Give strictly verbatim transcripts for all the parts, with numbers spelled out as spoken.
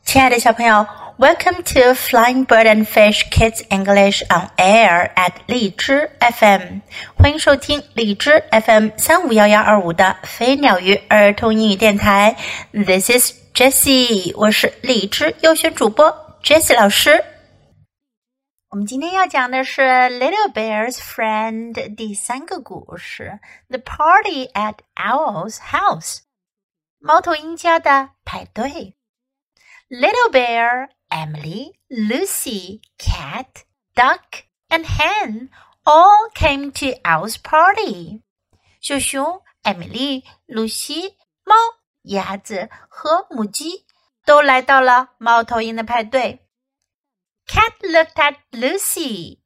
亲爱的小朋友 Welcome to Flying Bird and Fish Kids English on Air at 荔枝 F M 欢迎收听荔枝 F M 三五一一二五的飞鸟鱼儿童英语电台 This is Jessie 我是荔枝优选主播 Jessie 老师。我们今天要讲的是 Little Bear's Friend 第三个故事 The Party at Owl's House 猫头鹰家的派对。Little Bear, Emily, Lucy, Cat, Duck, and Hen all came to Owl's party. 小熊、艾米丽、露西、猫、鸭子和母鸡都来到了猫头鹰的派对。Cat looked at Lucy.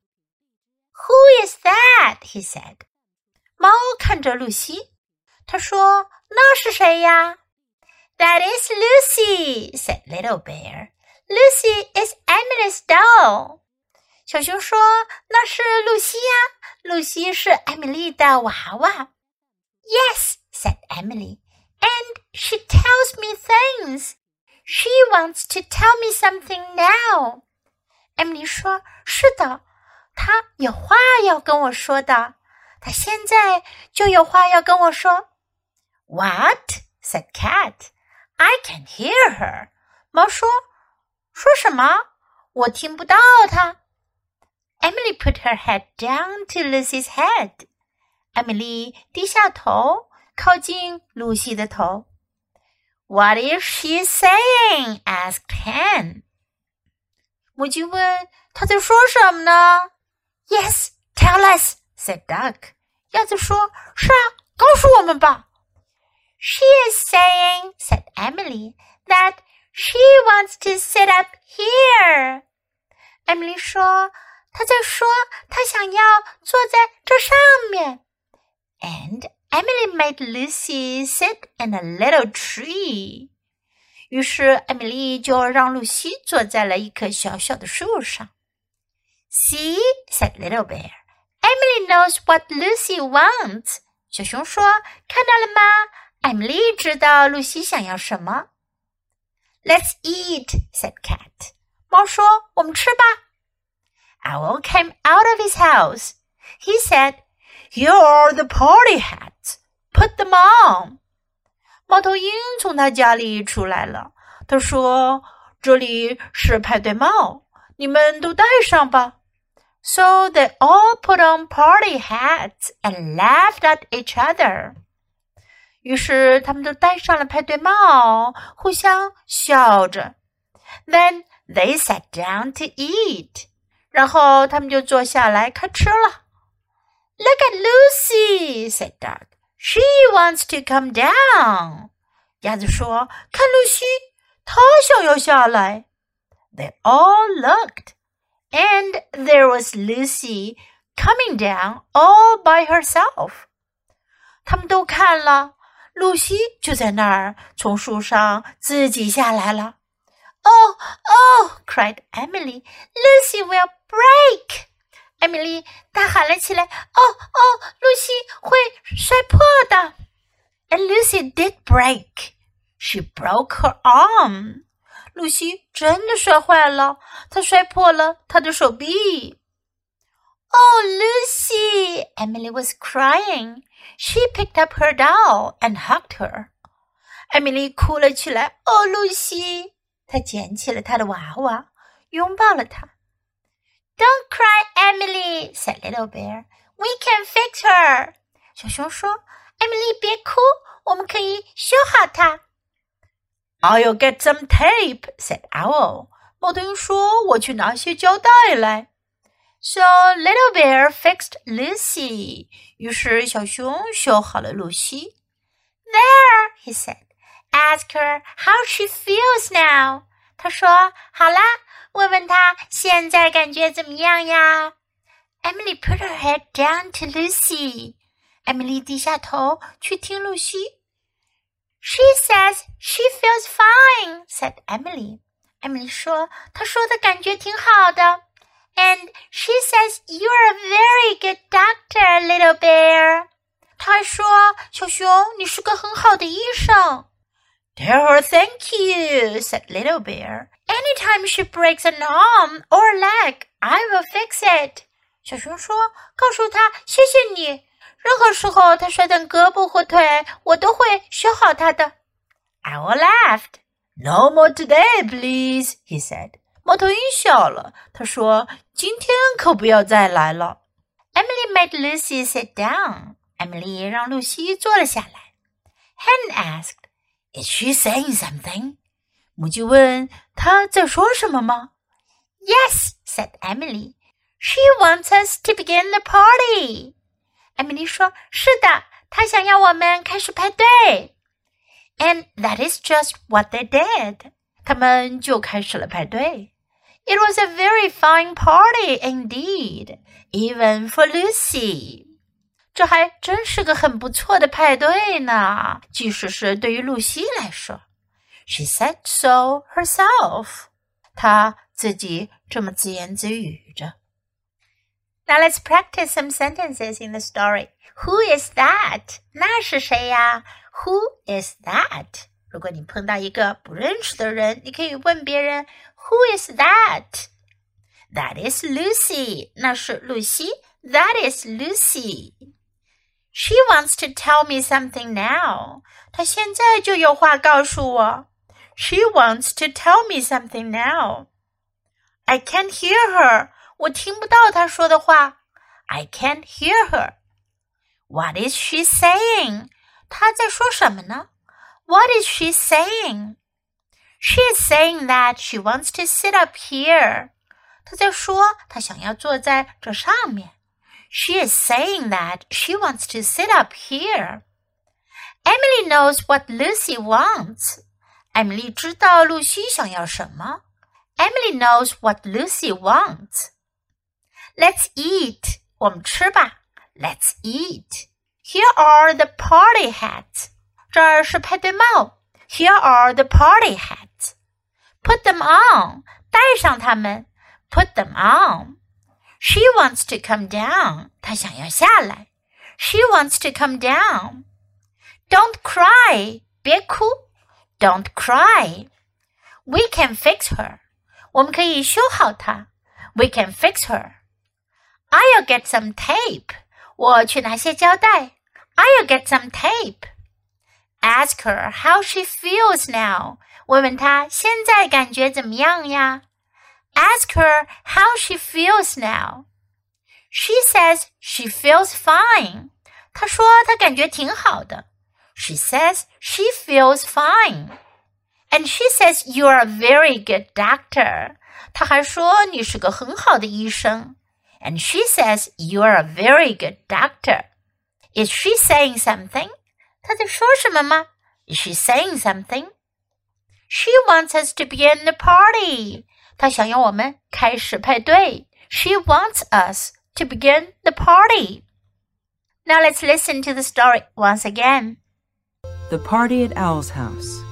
Who is that? He said. 猫看着露西，他说：“那是谁呀？” That is Lucy, said Little Bear. Lucy is Emily's doll. 小熊说，那是露西呀，露西是艾米丽的娃娃。Yes, said Emily, and she tells me things. She wants to tell me something now. 艾米丽说，是的，她有话要跟我说的，她现在就有话要跟我说。What? said Cat.I can hear her. 猫说，说什么？我听不到她。Emily put her head down to Lucy's head. 艾米丽低下头，靠近露西的头。What is she saying? asked Hen. 母鸡问，她在说什么呢？ Yes, tell us, said Duck. 鸭子说，是啊，告诉我们吧。She is saying, said Emily, that she wants to sit up here. Emily 说，她在说她想要坐在这上面。And Emily made Lucy sit in a little tree. 于是艾米丽就让露西坐在了一棵小小的树上。See, said Little Bear, Emily knows what Lucy wants. 小熊说，看到了吗？艾米丽知道露西想要什么。Let's eat, said Cat. 猫说，我们吃吧。Owl came out of his house. He said, Here are the party hats. Put them on. 猫头鹰从他家里出来了。他说，这里是派对帽，你们都戴上吧。So they all put on party hats and laughed at each other.于是他们都戴上了派对帽，互相笑着。Then they sat down to eat. 然后他们就坐下来开吃了。Look at Lucy, said Duck. She wants to come down. 鸭子说，看露西，她想要下来。They all looked. And there was Lucy coming down all by herself. 他们都看了。露西就在那儿，从树上自己下来了。Oh, oh, cried Emily. Lucy will break. 艾米丽大喊了起来。哦哦，露西会摔破的。And Lucy did break. She broke her arm. 露西真的摔坏了，她摔破了她的手臂。Oh, Lucy! Emily was crying.She picked up her doll and hugged her. 艾米丽哭了起来。哦，露西！她捡起了她的娃娃，拥抱了她。Don't cry, Emily, said Little Bear. We can fix her. 小熊说，艾米丽别哭，我们可以修好她。I'll get some tape, said Owl. 猫头鹰说，我去拿些胶带来。So Little Bear fixed Lucy. 于是小熊修好了露西。There, he said. Ask her how she feels now. 他说，好啦，问问她现在感觉怎么样呀？ Emily put her head down to Lucy. 艾米丽低下头去听露西。She says she feels fine, said Emily. 艾米丽说，她说的感觉挺好的。And she says you're a very good doctor, Little Bear. 她还说，小熊，你是个很好的医生。 Tell her thank you, said Little Bear. Anytime she breaks an arm or a leg, I will fix it. 小熊说，告诉她谢谢你。任何时候她摔断胳膊或腿，我都会修好她的。Owl laughed. No more today, please, he said. 猫头鹰笑了，他说，今天可不要再来了。Emily made Lucy sit down. Emily 让露西坐了下来。Hen asked, Is she saying something? 母鸡问，她在说什么吗？ Yes, said Emily. She wants us to begin the party. Emily 说，是的，她想要我们开始派对。And that is just what they did. 他们就开始了派对。It was a very fine party indeed, even for Lucy. 这还真是个很不错的派对呢，即使是对于露西来说。She said so herself. 她自己这么自言自语着。Now let's practice some sentences in the story. Who is that? 那是谁呀？ Who is that? 如果你碰到一个不认识的人，你可以问别人 Who is that? That is Lucy. 那是露西。That is Lucy. She wants to tell me something now. 她现在就有话告诉我。She wants to tell me something now. I can't hear her. 我听不到她说的话。I can't hear her. What is she saying? 她在说什么呢？What is she saying? She is saying that she wants to sit up here. 她在说她想要坐在这上面。She is saying that she wants to sit up here. Emily knows what Lucy wants. Emily 知道露西想要什么。Emily knows what Lucy wants. Let's eat. 我们吃吧。Let's eat. Here are the party hats. 这儿是派对帽。Here are the party hats. Put them on. 戴上它们。Put them on. She wants to come down. 她想要下来。She wants to come down. Don't cry. 别哭。Don't cry. We can fix her. 我们可以修好她。We can fix her. I'll get some tape. 我去拿些胶带。I'll get some tape. Ask her how she feels now. 问问她现在感觉怎么样呀？Ask her how she feels now. She says she feels fine. 她说她感觉挺好的。She says she feels fine. And she says you're a very good doctor. 她还说你是个很好的医生。And she says you're a very good doctor. Is she saying something? 她在说什么吗？ Is she saying something? She wants us to begin the party. 她想要我们开始派对。She wants us to begin the party. Now let's listen to the story once again. The party at Owl's house.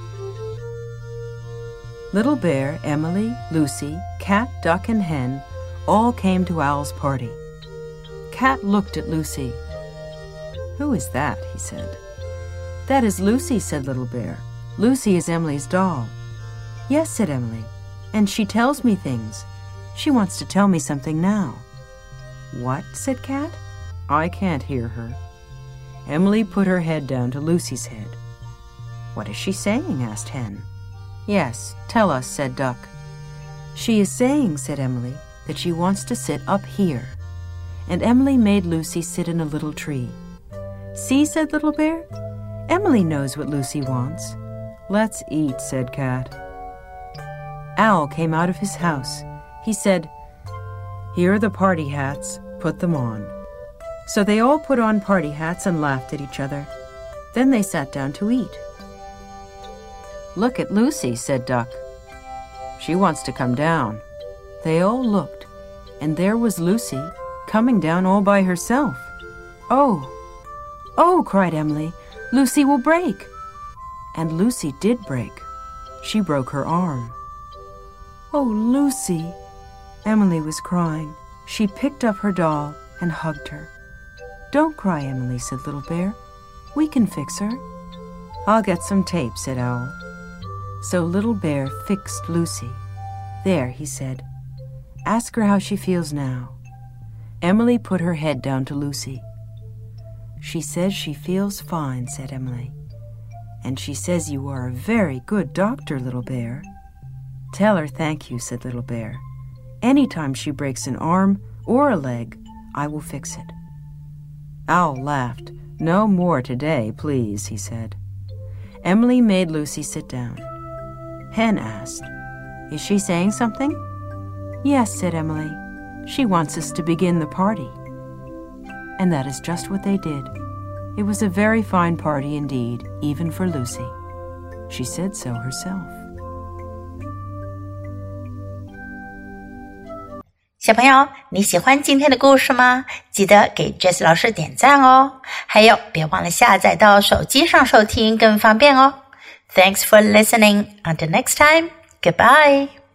Little Bear, Emily, Lucy, Cat, Duck, and Hen all came to Owl's party. Cat looked at Lucy. Who is that? He said. That is Lucy, said Little Bear. Lucy is Emily's doll. Yes, said Emily. And she tells me things. She wants to tell me something now. What? Said Cat. I can't hear her. Emily put her head down to Lucy's head. What is she saying? Asked Hen. Yes, tell us, said Duck. She is saying, said Emily, that she wants to sit up here. And Emily made Lucy sit in a little tree. See, said Little Bear. Emily knows what Lucy wants. Let's eat, said Cat. Owl came out of his house. He said, Here are the party hats. Put them on. So they all put on party hats and laughed at each other. Then they sat down to eat. Look at Lucy, said Duck. She wants to come down. They all looked, and there was Lucy coming down all by herself. Oh, oh, cried Emily, Lucy will break. And Lucy did break. She broke her arm. Oh, Lucy! Emily was crying. She picked up her doll and hugged her. Don't cry, Emily, said Little Bear. We can fix her. I'll get some tape, said Owl. So Little Bear fixed Lucy. There, he said. Ask her how she feels now. Emily put her head down to Lucy. She says she feels fine, said Emily. And she says you are a very good doctor, Little Bear. Tell her thank you, said Little Bear. Any time she breaks an arm or a leg, I will fix it. Owl laughed. No more today, please, he said. Emily made Lucy sit down. Hen asked, Is she saying something? Yes, said Emily. She wants us to begin the party. And that is just what they did. It was a very fine party indeed, even for Lucy. She said so herself. 小朋友，你喜欢今天的故事吗？记得给 Jessie 老师点赞哦。还有，别忘了下载到手机上收听更方便哦。Thanks for listening. Until next time, goodbye.